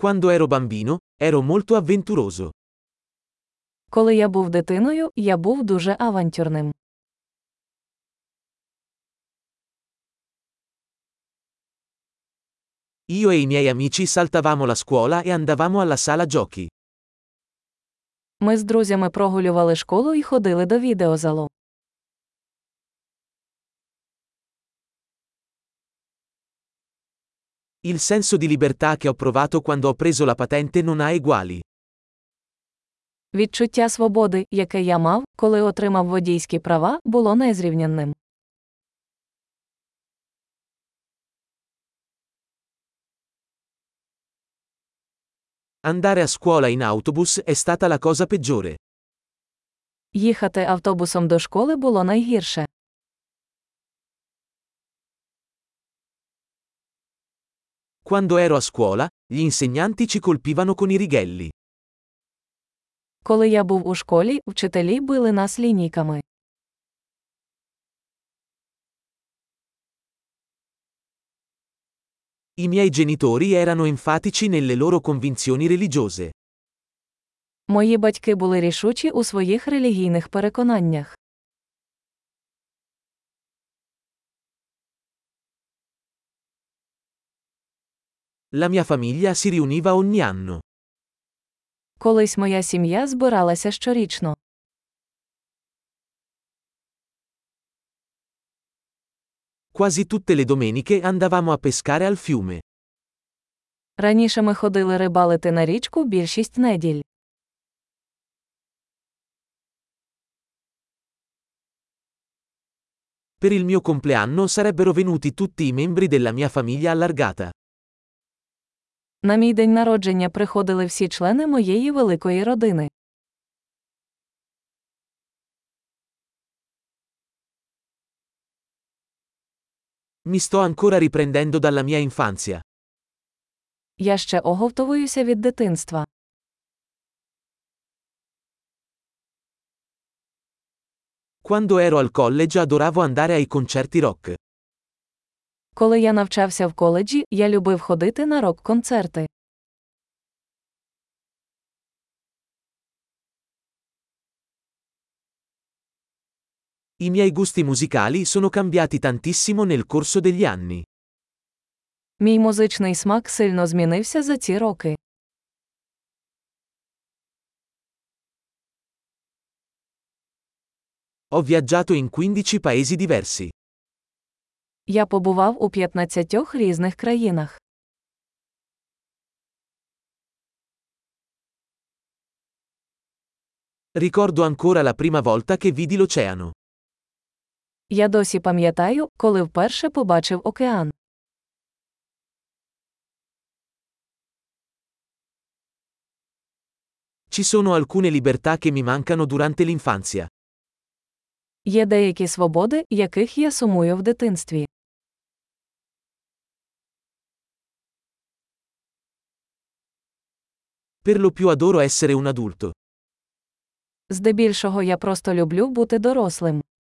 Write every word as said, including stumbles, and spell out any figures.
Quando ero bambino, ero molto avventuroso. Коли я був дитиною, я був дуже авантюрним. Io e i miei amici saltavamo la scuola e andavamo alla sala giochi. Ми з друзями прогулювали школу і ходили до відеозалу. Il senso di libertà che ho provato quando ho preso la patente non ha eguali. Відчуття свободи, яке я мав, коли отримав водійські права, було незрівнянним. Andare a scuola in autobus è stata la cosa peggiore. Їхати автобусом до школи було найгірше. Quando ero a scuola, gli insegnanti ci colpivano con i righelli. Коли я був у школі, вчителі били нас лінійками. I miei genitori erano enfatici nelle loro convinzioni religiose. Мої батьки були рішучі у своїх релігійних переконаннях. La mia famiglia si riuniva ogni anno. Колись моя сім'я збиралася щорічно. Quasi tutte le domeniche andavamo a pescare al fiume. Раніше ми ходили рибалити на річку більшість неділь. Per il mio compleanno sarebbero venuti tutti i membri della mia famiglia allargata. На мій день народження приходили всі члени моєї великої родини. Mi sto ancora riprendendo dalla mia infanzia. Я ще оговтовуюся від дитинства. Quando ero al college adoravo andare ai concerti rock. Коли я навчався в коледжі, я любив ходити на рок-концерти. I miei gusti musicali sono cambiati tantissimo nel corso degli anni. Мій музичний смак сильно змінився за ці роки. Ho viaggiato in quindici paesi diversi. Я побував у п'ятнадцятьох різних країнах. Ricordo ancora la prima volta che vidi l'oceano. Я досі пам'ятаю, коли вперше побачив океан. Ci sono alcune libertà che mi mancano durante l'infanzia. Є деякі свободи, яких я сумую в дитинстві. Per lo più adoro essere un adulto. Здебільшого я просто люблю бути дорослим.